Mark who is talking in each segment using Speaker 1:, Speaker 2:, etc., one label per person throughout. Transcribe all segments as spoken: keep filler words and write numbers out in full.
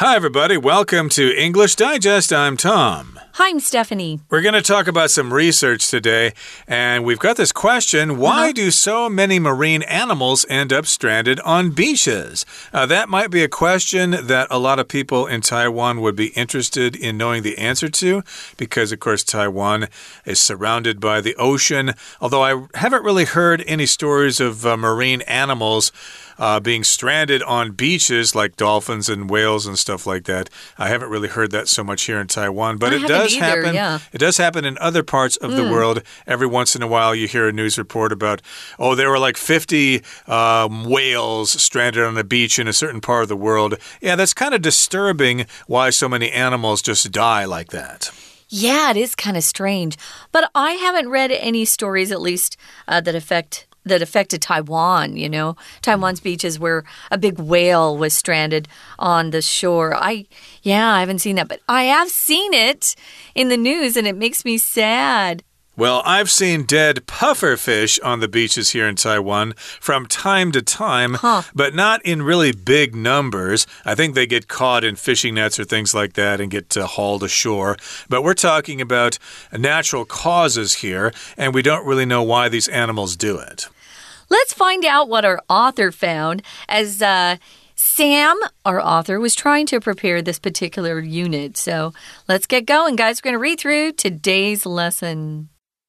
Speaker 1: Hi, everybody. Welcome to English Digest. I'm Tom.
Speaker 2: Hi, I'm Stephanie.
Speaker 1: We're going to talk about some research today, and we've got this question. Why uh-huh. do so many marine animals end up stranded on beaches? Uh, that might be a question that a lot of people in Taiwan would be interested in knowing the answer to, because, of course, Taiwan is surrounded by the ocean. Although I haven't really heard any stories of uh, marine animals Uh, being stranded on beaches like dolphins and whales and stuff like that. I haven't really heard that so much here in Taiwan, but
Speaker 2: I
Speaker 1: it does
Speaker 2: either,
Speaker 1: happen.
Speaker 2: Yeah.
Speaker 1: It does happen in other parts of mm. the world. Every once in a while, you hear a news report about, oh, there were like fifty um, whales stranded on a beach in a certain part of the world. Yeah, that's kind of disturbing why so many animals just die like that.
Speaker 2: Yeah, it is kind of strange. But I haven't read any stories, at least, uh, that affect that affected Taiwan, you know, Taiwan's beaches where a big whale was stranded on the shore. I, yeah, I haven't seen that, but I have seen it in the news and it makes me sad.
Speaker 1: Well, I've seen dead pufferfish on the beaches here in Taiwan from time to time,
Speaker 2: huh.
Speaker 1: but not in really big numbers. I think they get caught in fishing nets or things like that and get uh, hauled ashore. But we're talking about natural causes here, and we don't really know why these animals do it.
Speaker 2: Let's find out what our author found as uh, Sam, our author, was trying to prepare this particular unit. So let's get going, guys. We're going to read through today's lesson.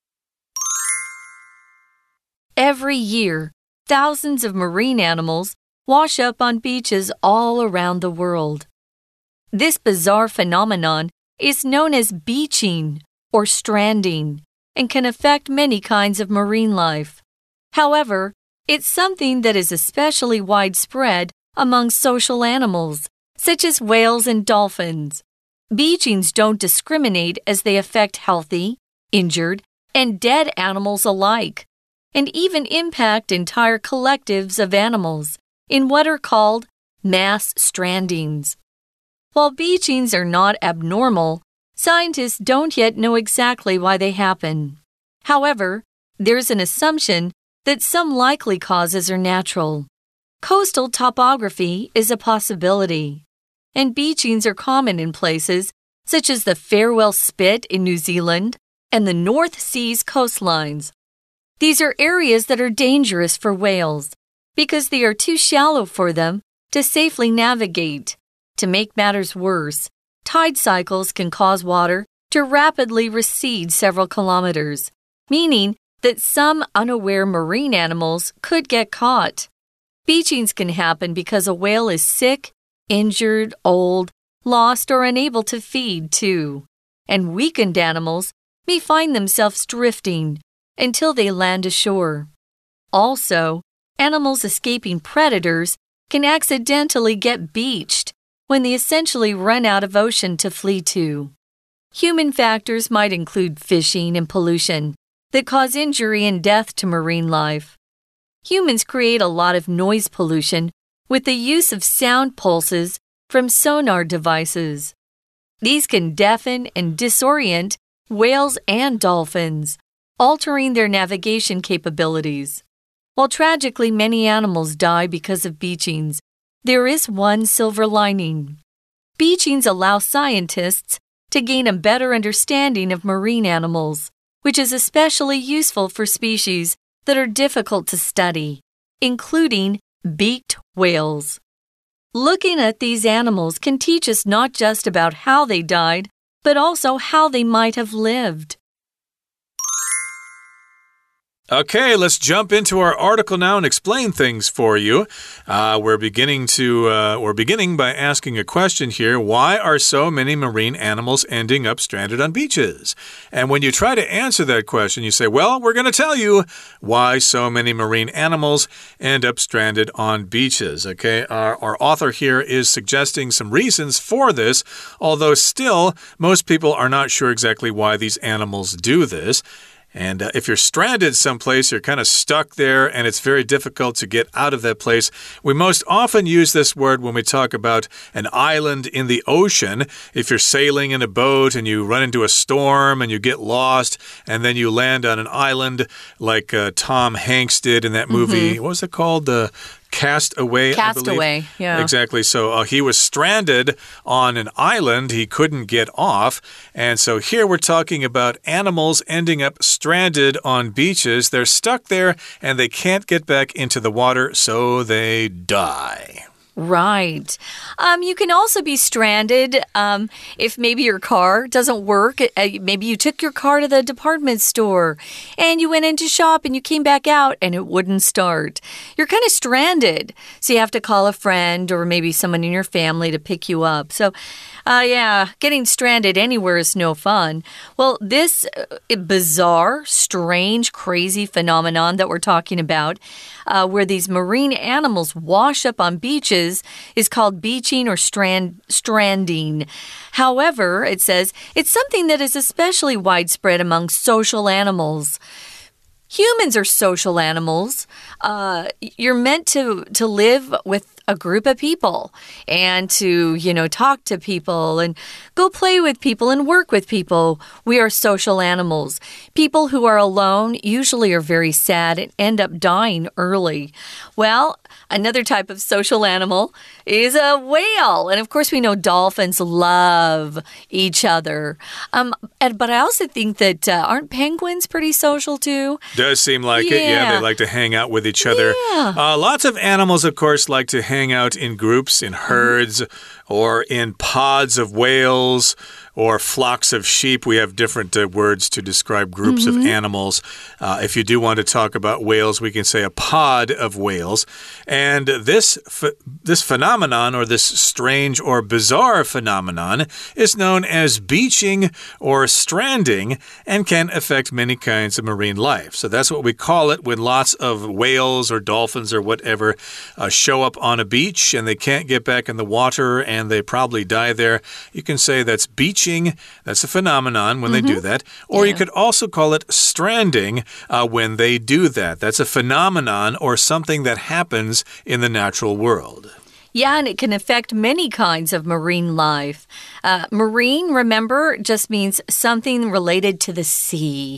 Speaker 2: Every year, thousands of marine animals wash up on beaches all around the world. This bizarre phenomenon is known as beaching or stranding and can affect many kinds of marine life. However, it's something that is especially widespread among social animals, such as whales and dolphins. Beachings don't discriminate as they affect healthy, injured, and dead animals alike, and even impact entire collectives of animals in what are called mass strandings. While beachings are not abnormal, scientists don't yet know exactly why they happen. However, there's an assumption that some likely causes are natural. Coastal topography is a possibility, and beachings are common in places such as the Farewell Spit in New Zealand and the North Sea's coastlines. These are areas that are dangerous for whales because they are too shallow for them to safely navigate. To make matters worse, tide cycles can cause water to rapidly recede several kilometers, meaning that some unaware marine animals could get caught. Beachings can happen because a whale is sick, injured, old, lost, or unable to feed, too. And weakened animals may find themselves drifting until they land ashore. Also, animals escaping predators can accidentally get beached when they essentially run out of ocean to flee to. Human factors might include fishing and pollution that cause injury and death to marine life. Humans create a lot of noise pollution with the use of sound pulses from sonar devices. These can deafen and disorient whales and dolphins, altering their navigation capabilities. While tragically many animals die because of beachings, there is one silver lining. Beachings allow scientists to gain a better understanding of marine animals, which is especially useful for species that are difficult to study, including beaked whales. Looking at these animals can teach us not just about how they died, but also how they might have lived.
Speaker 1: Okay, let's jump into our article now and explain things for you. Uh, we're beginning to uh, we're beginning by asking a question here. Why are so many marine animals ending up stranded on beaches? And when you try to answer that question, you say, well, we're going to tell you why so many marine animals end up stranded on beaches. Okay, our, our author here is suggesting some reasons for this, although still most people are not sure exactly why these animals do this. And uh, if you're stranded someplace, you're kind of stuck there, and it's very difficult to get out of that place. We most often use this word when we talk about an island in the ocean. If you're sailing in a boat and you run into a storm and you get lost, and then you land on an island like uh, Tom Hanks did in that movie. Mm-hmm. What was it called? The cast away.
Speaker 2: Cast away, yeah.
Speaker 1: Exactly. So uh, he was stranded on an island. He couldn't get off. And so here we're talking about animals ending up stranded on beaches. They're stuck there and they can't get back into the water, so they die.
Speaker 2: Right. Um, you can also be stranded um, if maybe your car doesn't work. Uh, maybe you took your car to the department store and you went in to shop and you came back out and it wouldn't start. You're kind of stranded. So you have to call a friend or maybe someone in your family to pick you up. So, uh, yeah, getting stranded anywhere is no fun. Well, this uh, bizarre, strange, crazy phenomenon that we're talking about, uh, where these marine animals wash up on beaches, is called beaching or strand, stranding. However, it says it's something that is especially widespread among social animals. Humans are social animals. Uh, you're meant to, to live with a group of people and to, you know, talk to people and go play with people and work with people. We are social animals. People who are alone usually are very sad and end up dying early. Well, another type of social animal is a whale. And of course, we know dolphins love each other. Um, and, but I also think that uh, aren't penguins pretty social too?
Speaker 1: Does seem like
Speaker 2: yeah.
Speaker 1: it. Yeah, they like to hang out with each other.
Speaker 2: Yeah.
Speaker 1: Uh, lots of animals, of course, like to hang out in groups, in herds, or in pods of whales, or flocks of sheep. We have different uh, words to describe groups
Speaker 2: mm-hmm.
Speaker 1: of animals. Uh, if you do want to talk about whales, we can say a pod of whales. And this, ph this phenomenon, or this strange or bizarre phenomenon, is known as beaching or stranding and can affect many kinds of marine life. So that's what we call it when lots of whales or dolphins or whatever uh, show up on a beach and they can't get back in the water and they probably die there. You can say that's beaching. That's a phenomenon when mm-hmm. they do that. Or yeah. you could also call it stranding uh, when they do that. That's a phenomenon or something that happens in the natural world.
Speaker 2: Yeah, and it can affect many kinds of marine life. Uh, marine, remember, just means something related to the sea.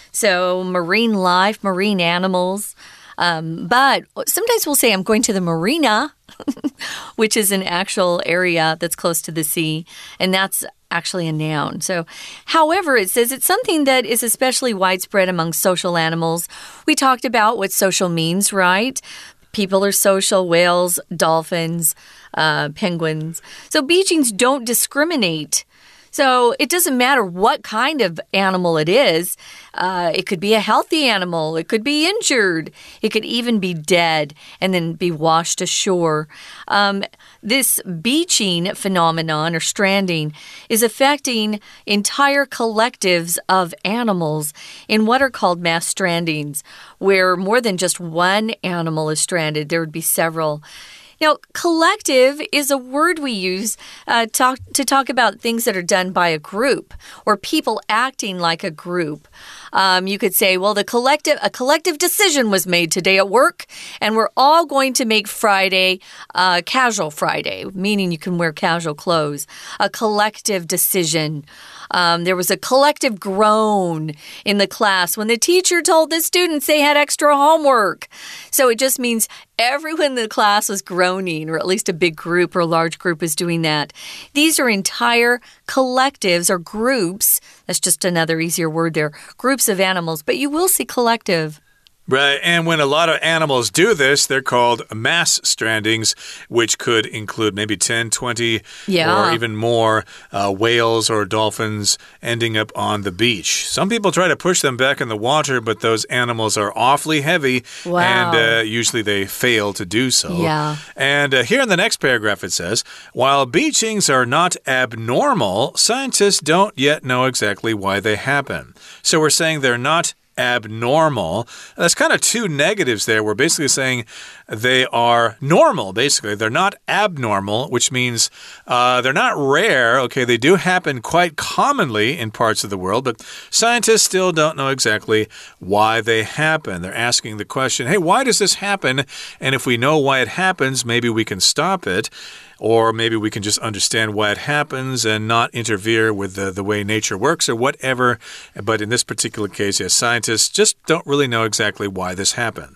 Speaker 2: So marine life, marine animals. Um, but sometimes we'll say, I'm going to the marina, which is an actual area that's close to the sea. And that's actually a noun. So, however, it says it's something that is especially widespread among social animals. We talked about what social means, right? People are social, whales, dolphins, uh, penguins. So beachings don't discriminate. So it doesn't matter what kind of animal it is. Uh, it could be a healthy animal. It could be injured. It could even be dead and then be washed ashore. Um, this beaching phenomenon or stranding is affecting entire collectives of animals in what are called mass strandings, where more than just one animal is stranded. There would be several. Now, collective is a word we use uh, talk, to talk about things that are done by a group or people acting like a group. Um, you could say, well, the collective, a collective decision was made today at work, and we're all going to make Friday uh, casual Friday, meaning you can wear casual clothes. A collective decision. Um, there was a collective groan in the class when the teacher told the students they had extra homework. So it just means everyone in the class was groaning, or at least a big group or a large group is doing that. These are entire collectives or groups. That's just another easier word there. Groups of animals, but you will see collective.
Speaker 1: Right, and when a lot of animals do this, they're called mass strandings, which could include maybe ten, twenty,
Speaker 2: yeah.
Speaker 1: or even more uh, whales or dolphins ending up on the beach. Some people try to push them back in the water, but those animals are awfully heavy,
Speaker 2: wow.
Speaker 1: and uh, usually they fail to do so.
Speaker 2: Yeah.
Speaker 1: And uh, here in the next paragraph it says, while beachings are not abnormal, scientists don't yet know exactly why they happen. So we're saying they're not abnormal. That's kind of two negatives there. We're basically saying they are normal, basically. They're not abnormal, which means uh, they're not rare. Okay, they do happen quite commonly in parts of the world, but scientists still don't know exactly why they happen. They're asking the question, hey, why does this happen? And if we know why it happens, maybe we can stop it. Or maybe we can just understand why it happens and not interfere with the, the way nature works or whatever. But in this particular case, yes, scientists just don't really know exactly why this happens.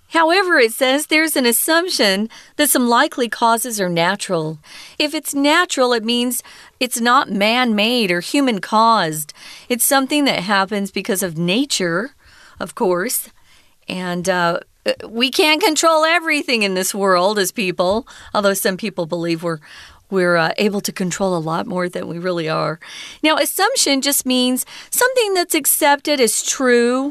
Speaker 2: However, it says there's an assumption that some likely causes are natural. If it's natural, it means it's not man-made or human-caused. It's something that happens because of nature, of course. And uh, we can't control everything in this world as people, although some people believe we're We're uh, able to control a lot more than we really are. Now, assumption just means something that's accepted as true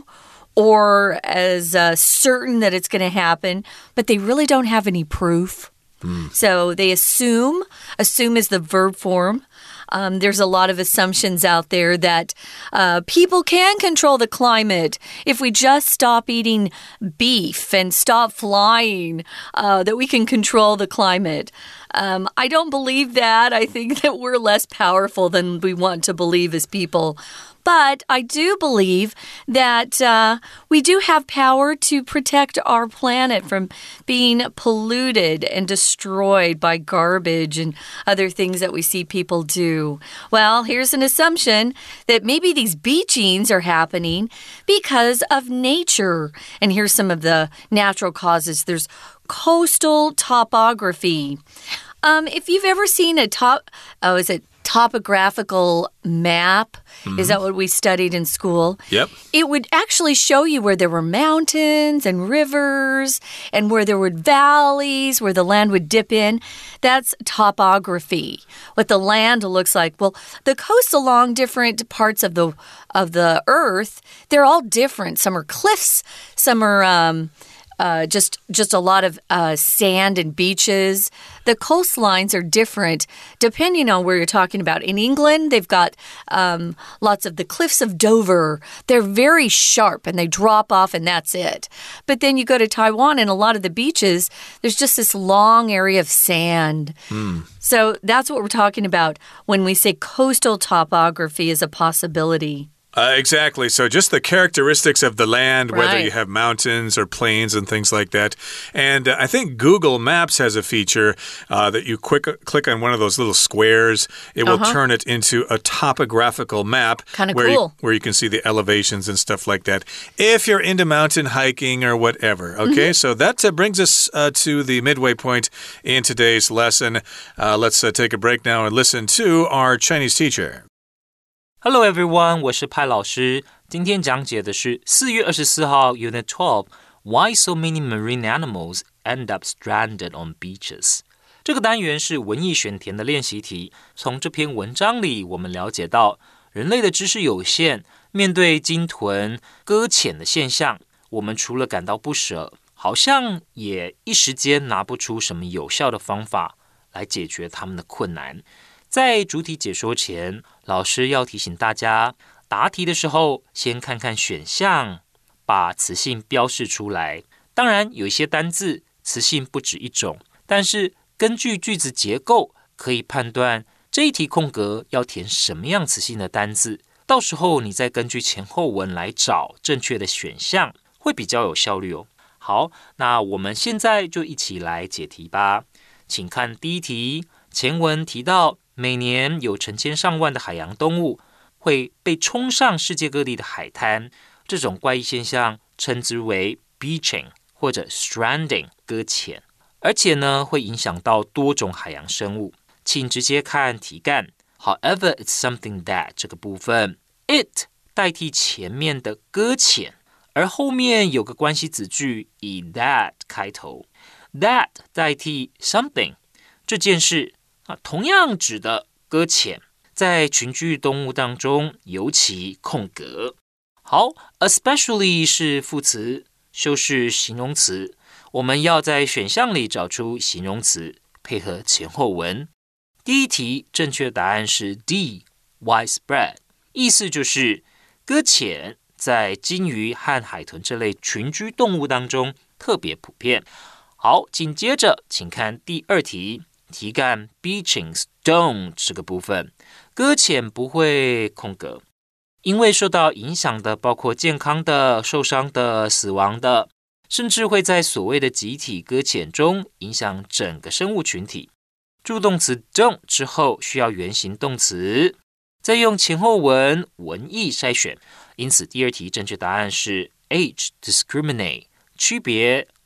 Speaker 2: or as uh, certain that it's going to happen, but they really don't have any proof. Mm. So they assume. Assume is the verb form. Um, there's a lot of assumptions out there that uh, people can control the climate if we just stop eating beef and stop flying, uh, that we can control the climate. Um, I don't believe that. I think that we're less powerful than we want to believe as people. But I do believe that uh, we do have power to protect our planet from being polluted and destroyed by garbage and other things that we see people do. Well, here's an assumption that maybe these beachings are happening because of nature. And here's some of the natural causes. There's coastal topography. Um, if you've ever seen a top, oh, is it topographical map? Mm-hmm. Is that what we studied in school?
Speaker 1: Yep.
Speaker 2: It would actually show you where there were mountains and rivers and where there were valleys, where the land would dip in. That's topography. What the land looks like. Well, the coasts along different parts of the of the earth, they're all different. Some are cliffs, some are um Uh, just just a lot of uh, sand and beaches. The coastlines are different depending on where you're talking about. In England, they've got um, lots of the cliffs of Dover. They're very sharp and they drop off and that's it. But then you go to Taiwan and a lot of the beaches, there's just this long area of sand. Mm. So that's what we're talking about when we say coastal topography is a possibility.
Speaker 1: Uh, exactly. So just the characteristics of the land,
Speaker 2: right.
Speaker 1: whether you have mountains or plains and things like that. And uh, I think Google Maps has a feature uh, that you quick, click on one of those little squares. It will uh-huh. turn it into a topographical map.
Speaker 2: Kind of
Speaker 1: where
Speaker 2: cool.
Speaker 1: You, where you can see the elevations and stuff like that. If you're into mountain hiking or whatever. Okay, mm-hmm. So that uh, brings us uh, to the midway point in today's lesson. Uh, let's uh, take a break now and listen to our Chinese teacher.Hello
Speaker 3: everyone, 我是派老師。今天講解的是四月二十四號 Unit twelve Why so many marine animals end up stranded on beaches? 這個單元是文意選填的練習題。從這篇文章裡，我們了解到人類的知識有限，面對鯨豚擱淺的現象，我們除了感到不捨，好像也一時間拿不出什麼有效的方法來解決他們的困難。在主題解說前，老師要提醒大家，答題的時候先看看選項，把詞性標示出來。當然，有一些單字詞性不止一種，但是根據句子結構，可以判斷這一題空格要填什麼樣詞性的單字。到時候你再根據前後文來找正確的選項，會比較有效率哦。好，那我們現在就一起來解題吧。請看第一題，前文提到每年有成千上萬的海洋動物會被衝上世界各地的海灘，這種怪異現象稱之為 beaching 或者 stranding 擱淺，而且呢會影響到多種海洋生物。請直接看題幹 However, it's something that 這個部分 it 代替前面的擱淺，而後面有個關係子句以 that 開頭， that 代替 something 這件事啊，同樣指的擱淺，在群居動物當中尤其空格。好 ，especially 是副詞，修飾形容詞。我們要在選項裡找出形容詞，配合前後文。第一題正確答案是 D，widespread， 意思就是擱淺在鯨魚和海豚這類群居動物當中特別普遍。好，緊接着請看第二題。題幹 beachings don't 這個部分，擱淺不會空格，因為受到影響的包括健康的、受傷的、死亡的，甚至會在所謂的集體擱淺中影響整個生物群體。助動詞 don't 之後需要原形動詞，再用前後文文意篩選，因此第二題正確答案是 H discriminate 區別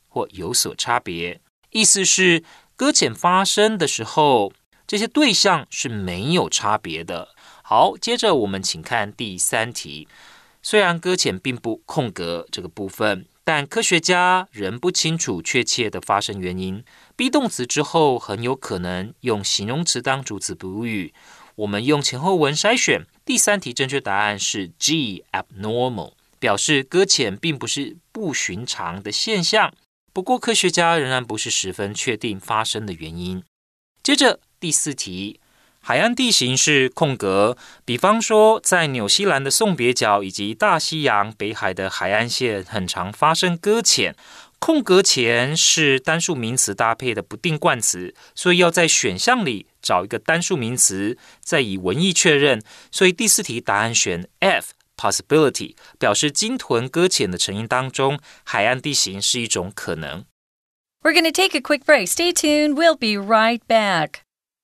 Speaker 3: 或有所差別。意思是，擱淺發生的時候，這些對象是沒有差別的。好，接着我們請看第三題。雖然擱淺並不空格這個部分，但科學家仍不清楚確切的發生原因。be 動詞之後很有可能用形容詞當主詞補語。我們用前後文篩選，第三題正確答案是 G abnormal， 表示擱淺並不是不尋常的現象。不過科學家仍然不是十分確定發生的原因。接着第四題，海岸地形是空格，比方說在紐西蘭的送別角以及大西洋北海的海岸線很常發生擱淺。空格前是單數名詞搭配的不定冠詞，所以要在選項裡找一個單數名詞，再以文意確認。所以第四題答案選 F possibility， 表示鯨豚擱淺的成因當中，海岸地形是一種可能。
Speaker 2: We're going to take a quick break. Stay tuned. We'll be right back.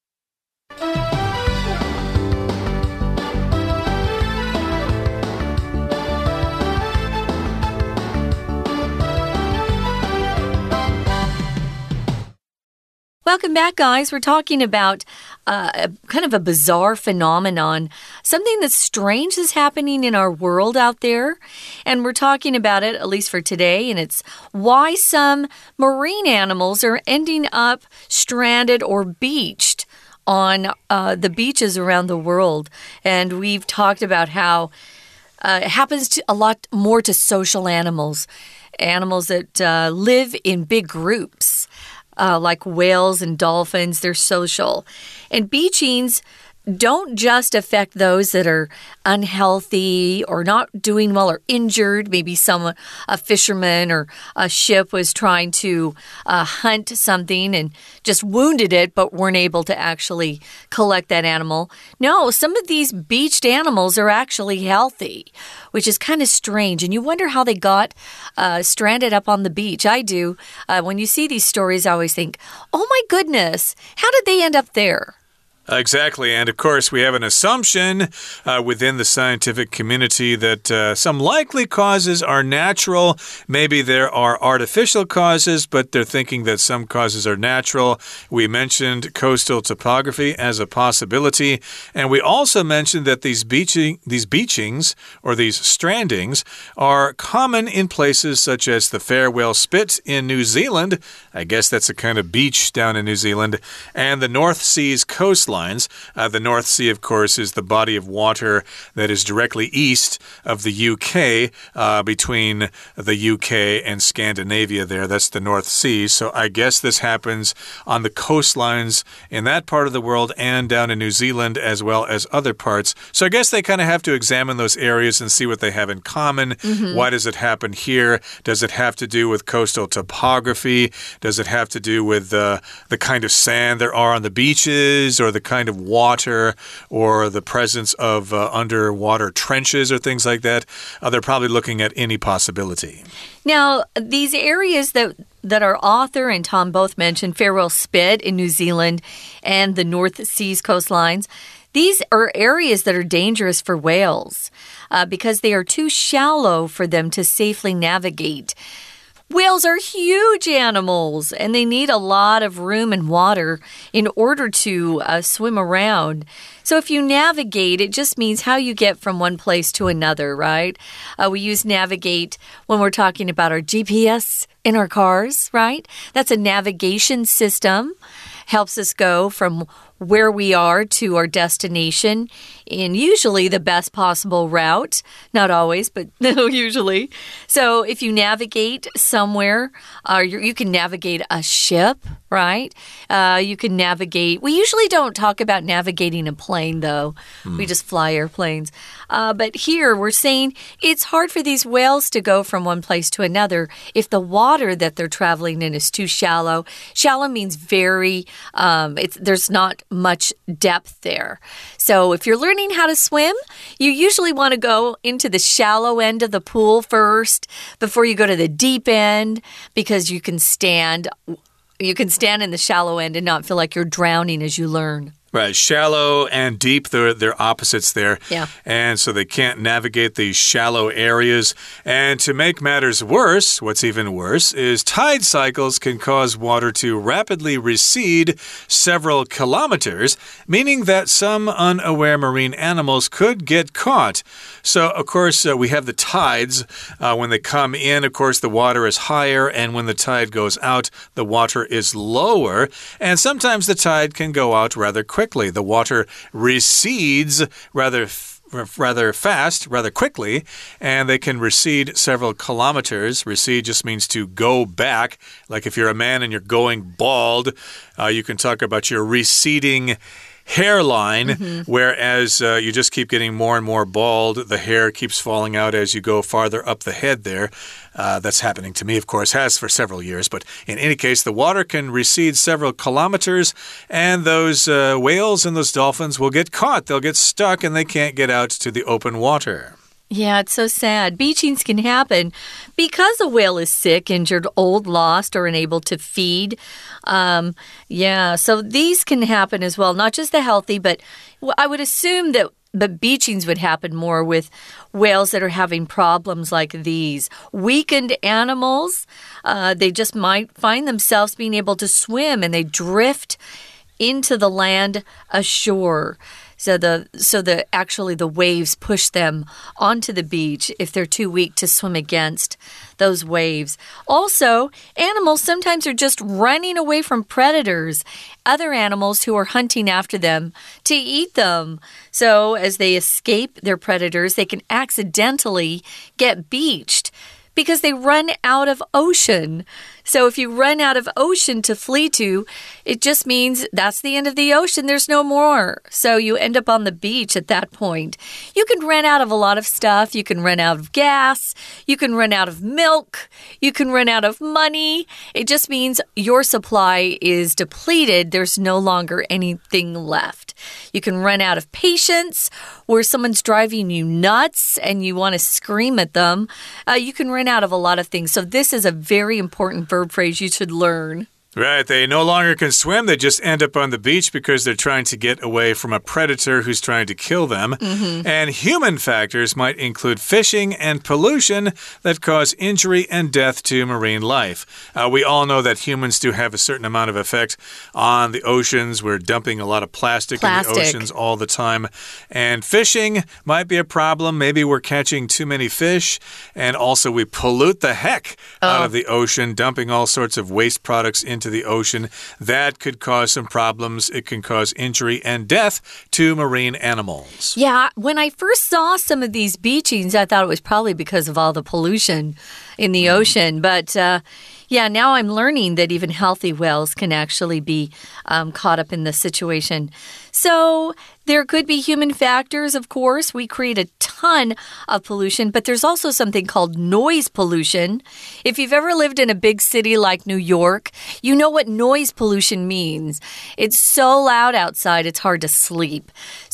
Speaker 2: Welcome back, guys. We're talking about uh, a, kind of a bizarre phenomenon, something that's strange is happening in our world out there. And we're talking about it, at least for today, and it's why some marine animals are ending up stranded or beached on uh, the beaches around the world. And we've talked about how uh, it happens to a lot more to social animals, animals that uh, live in big groups. Uh, like whales and dolphins, they're social. And beachings don't just affect those that are unhealthy or not doing well or injured. Maybe some a fisherman or a ship was trying to uh, hunt something and just wounded it, but weren't able to actually collect that animal. No, some of these beached animals are actually healthy, which is kind of strange. And you wonder how they got uh, stranded up on the beach. I do. Uh, when you see these stories, I always think, oh my goodness, how did they end up there?
Speaker 1: Exactly. And of course, we have an assumption uh, within the scientific community that uh, some likely causes are natural. Maybe there are artificial causes, but they're thinking that some causes are natural. We mentioned coastal topography as a possibility. And we also mentioned that these beaching, these beachings or these strandings are common in places such as the Farewell Spit in New Zealand. I guess that's a kind of beach down in New Zealand. And the North Sea's coastline. Uh, the North Sea, of course, is the body of water that is directly east of the U K, uh, between the U K and Scandinavia there. That's the North Sea. So I guess this happens on the coastlines in that part of the world and down in New Zealand as well as other parts. So I guess they kind of have to examine those areas and see what they have in common. Mm-hmm. Why does it happen here? Does it have to do with coastal topography? Does it have to do with uh, the kind of sand there are on the beaches or the kind of water or the presence of uh, underwater trenches or things like that? Uh, they're probably looking at any possibility.
Speaker 2: Now, these areas that that our author and Tom both mentioned, Farewell Spit in New Zealand and the North Sea's coastlines, these are areas that are dangerous for whales uh, because they are too shallow for them to safely navigate. Whales are huge animals, and they need a lot of room and water in order to uh, swim around. So if you navigate, it just means how you get from one place to another, right? Uh, we use navigate when we're talking about our G P S in our cars, right? That's a navigation system. Helps us go from where we are to our destination in usually the best possible route. Not always, but usually. So if you navigate somewhere, uh, you, you can navigate a ship, right? Uh, you can navigate. We usually don't talk about navigating a plane, though. Mm. We just fly airplanes. Uh, but here we're saying it's hard for these whales to go from one place to another if the water that they're traveling in is too shallow. Shallow means very, um, it's, there's not much depth there. So if you're learning how to swim, you usually want to go into the shallow end of the pool first before you go to the deep end because you can stand, you can stand in the shallow end and not feel like you're drowning as you learn.
Speaker 1: Right, shallow and deep, they're, they're opposites there.
Speaker 2: Yeah.
Speaker 1: And so they can't navigate these shallow areas. And to make matters worse, what's even worse is tide cycles can cause water to rapidly recede several kilometers, meaning that some unaware marine animals could get caught. So, of course, uh, we have the tides. Uh, when they come in, of course, the water is higher, and when the tide goes out, the water is lower. And sometimes the tide can go out rather quickly. Quickly. The water recedes rather rather fast, rather quickly, and they can recede several kilometers. Recede just means to go back. Like if you're a man and you're going bald, uh, you can talk about your receding hairline, mm-hmm. whereas uh, you just keep getting more and more bald. The hair keeps falling out as you go farther up the head there. Uh, that's happening to me, of course, has for several years. But in any case, the water can recede several kilometers, and those uh, whales and those dolphins will get caught. They'll get stuck, and they can't get out to the open water.
Speaker 2: Yeah, it's so sad. Beachings can happen because a whale is sick, injured, old, lost, or unable to feed. Um, yeah, so these can happen as well. Not just the healthy, but I would assume that But beachings would happen more with whales that are having problems like these. Weakened animals, uh, they just might find themselves being able to swim, and they drift into the land ashore. So the so the actually the waves push them onto the beach if they're too weak to swim against those waves. Also, animals sometimes are just running away from predators, other animals who are hunting after them to eat them. So as they escape their predators, they can accidentally get beached because they run out of ocean. So if you run out of ocean to flee to, it just means that's the end of the ocean. There's no more. So you end up on the beach at that point. You can run out of a lot of stuff. You can run out of gas. You can run out of milk. You can run out of money. It just means your supply is depleted. There's no longer anything left. You can run out of patience, where someone's driving you nuts and you want to scream at them. Uh, you can run out of a lot of things. So this is a very important verb phrase you should learn.
Speaker 1: Right, they no longer can swim. They just end up on the beach because they're trying to get away from a predator who's trying to kill them.
Speaker 2: Mm-hmm.
Speaker 1: And human factors might include fishing and pollution that cause injury and death to marine life. Uh, we all know that humans do have a certain amount of effect on the oceans. We're dumping a lot of plastic,
Speaker 2: plastic.
Speaker 1: in the oceans all the time. And fishing might be a problem. Maybe we're catching too many fish. And also we pollute the heck
Speaker 2: oh.
Speaker 1: out of the ocean, dumping all sorts of waste products into the ocean. That could cause some problems. It can cause injury and death to marine animals.
Speaker 2: Yeah, when I first saw some of these beachings, I thought it was probably because of all the pollution in the ocean. But uh, yeah, now I'm learning that even healthy whales can actually be um, caught up in this situation. So there could be human factors, of course. We create a ton of pollution, but there's also something called noise pollution. If you've ever lived in a big city like New York, you know what noise pollution means. It's so loud outside, it's hard to sleep.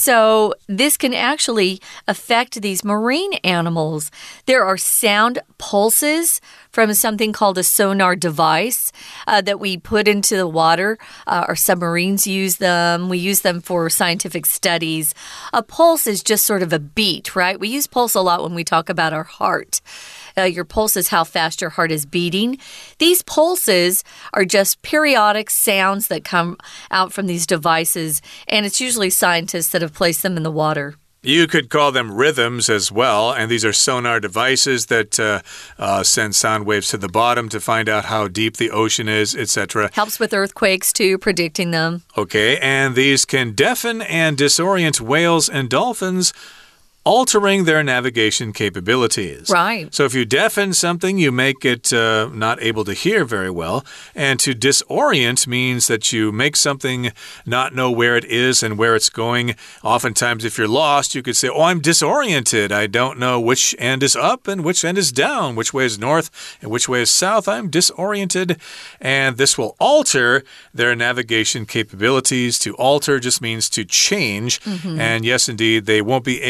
Speaker 2: So this can actually affect these marine animals. There are sound pulses from something called a sonar device uh, that we put into the water. Uh, our submarines use them. We use them for scientific studies. A pulse is just sort of a beat, right? We use pulse a lot when we talk about our heart. Uh, your pulse is how fast your heart is beating. These pulses are just periodic sounds that come out from these devices, and it's usually scientists that have placed them in the water.
Speaker 1: You could call them rhythms as well, and these are sonar devices that uh, uh, send sound waves to the bottom to find out how deep the ocean is, et cetera.
Speaker 2: Helps with earthquakes, too, predicting them.
Speaker 1: Okay, and these can deafen and disorient whales and dolphins, altering their navigation capabilities.
Speaker 2: Right.
Speaker 1: So if you deafen something, you make it uh, not able to hear very well. And to disorient means that you make something not know where it is and where it's going. Oftentimes, if you're lost, you could say, oh, I'm disoriented. I don't know which end is up and which end is down, which way is north and which way is south. I'm disoriented. And this will alter their navigation capabilities. To alter just means to change.
Speaker 2: Mm-hmm.
Speaker 1: And yes, indeed, they won't be able to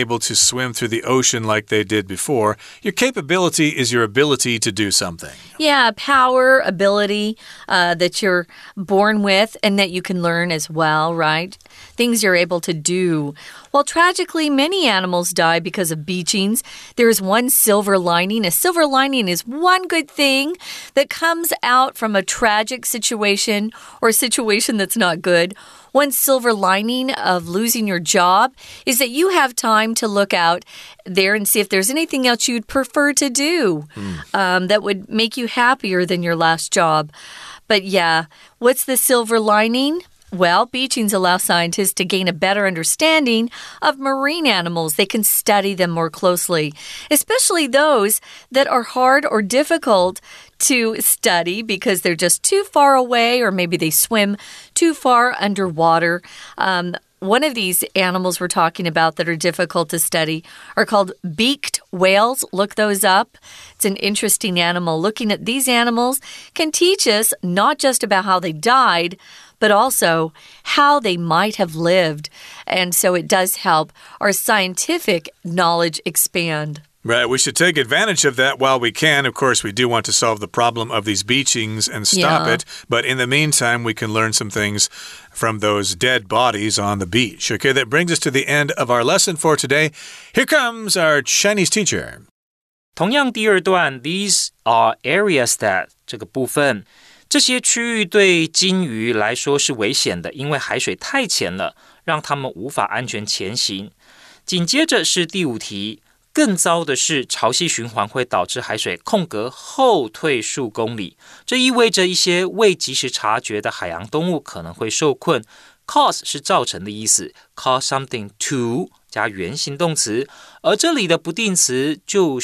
Speaker 1: swim through the ocean like they did before. Your capability is your ability to do something.
Speaker 2: Yeah, power, ability uh, that you're born with and that you can learn as well, right? Things you're able to do. Well, tragically, many animals die because of beachings. There is one silver lining. A silver lining is one good thing that comes out from a tragic situation or a situation that's not good. One silver lining of losing your job is that you have time to look out there and see if there's anything else you'd prefer to do mm. um, that would make you happier than your last job. But yeah, what's the silver lining? Well, beachings allow scientists to gain a better understanding of marine animals. They can study them more closely, especially those that are hard or difficult to study because they're just too far away or maybe they swim too far underwater. Um, one of these animals we're talking about that are difficult to study are called beaked whales. Look those up. It's an interesting animal. Looking at these animals can teach us not just about how they died, but also how they might have lived. And so it does help our scientific knowledge expand.
Speaker 1: Right, we should take advantage of that while we can. Of course, we do want to solve the problem of these beachings and stop
Speaker 2: yeah.
Speaker 1: it. But in the meantime, we can learn some things from those dead bodies on the beach. Okay, that brings us to the end of our lesson for today. Here comes our Chinese teacher.
Speaker 3: 同樣第二段 These are areas that 這個部分這些區域對鯨魚來說是危險的，因為海水太淺了，讓它們無法安全前行。緊接着是第五題，更糟的是潮汐循環會導致海水空格後退數公里，這意味着一些未及時察覺的海洋動物可能會受困。Cause 是造成的意思 ，cause something to 加原形動詞，而這裡的不定詞就是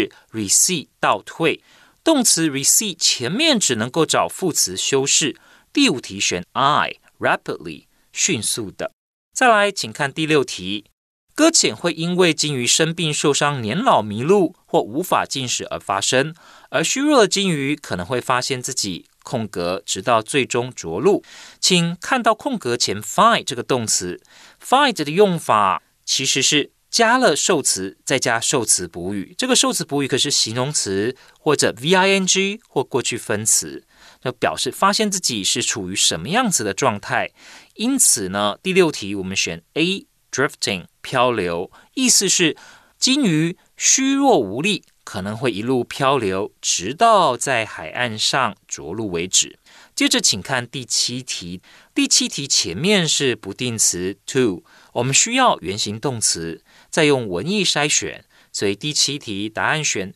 Speaker 3: recede 倒退。動詞 recede 前面只能夠找副詞修飾，第五題選 I rapidly 迅速的。再來，請看第六題，擱淺會因為鯨魚生病、受傷、年老、迷路或無法進食而發生，而虛弱的鯨魚可能會發現自己空格，直到最終着陸。請看到空格前 find 這個動詞 ，find 的用法其實是加了受詞，再加受詞補語。這個受詞補語可是形容詞或者 V I N G 或過去分詞，那表示發現自己是處於什麼樣子的狀態。因此呢，第六題我們選 A drifting 漂流，意思是鯨魚虛弱無力，可能會一路漂流，直到在海岸上着陸為止。接着請看第七題，第七題前面是不定詞 to， 我們需要原形動詞，再用文意篩選，所以第七題答案選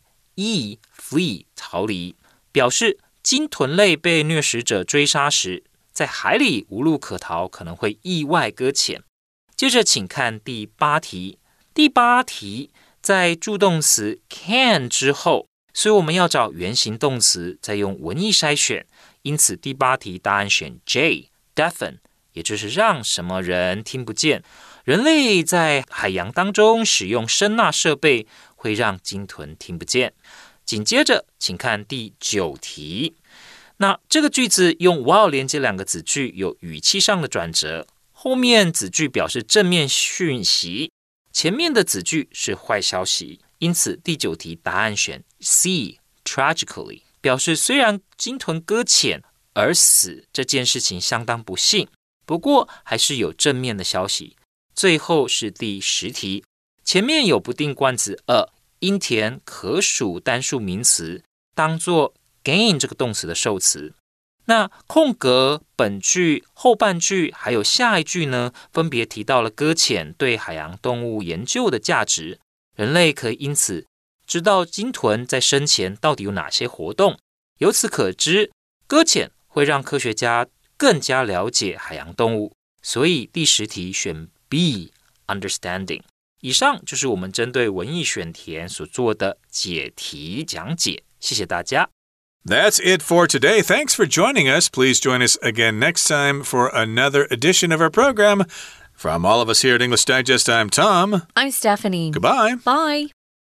Speaker 3: E flee 逃離，表示鯨豚類被掠食者追殺時，在海裡無路可逃，可能會意外擱淺。接着請看第八題，第八題在助動詞 can 之後，所以我們要找原形動詞，再用文意篩選。因此第八題答案選 J deafen， 也就是讓什麼人聽不見。人類在海洋當中使用聲納設備，會讓鯨豚聽不見。緊接着請看第九題，那這個句子用 while 連接兩個子句，有語氣上的轉折，後面子句表示正面訊息，前面的子句是壞消息。因此第九題答案選 C tragically， 表示雖然鯨豚擱淺而死這件事情相當不幸，不過還是有正面的消息。最後是第十題，前面有不定冠詞 a， 應填可數單數名詞，當作 gain 這個動詞的受詞。那空格本句、後半句還有下一句呢，分別提到了擱淺對海洋動物研究的價值。人類可以因此知道鯨豚在生前到底有哪些活動。由此可知，擱淺會讓科學家更加了解海洋動物。所以第十題選 B understanding。以上就是我們針對文意選填所做的解題講解，謝謝大家。
Speaker 1: That's it for today. Thanks for joining us. Please join us again next time for another edition of our program. From all of us here at English Digest, I'm Tom.
Speaker 2: I'm Stephanie.
Speaker 1: Goodbye.
Speaker 2: Bye.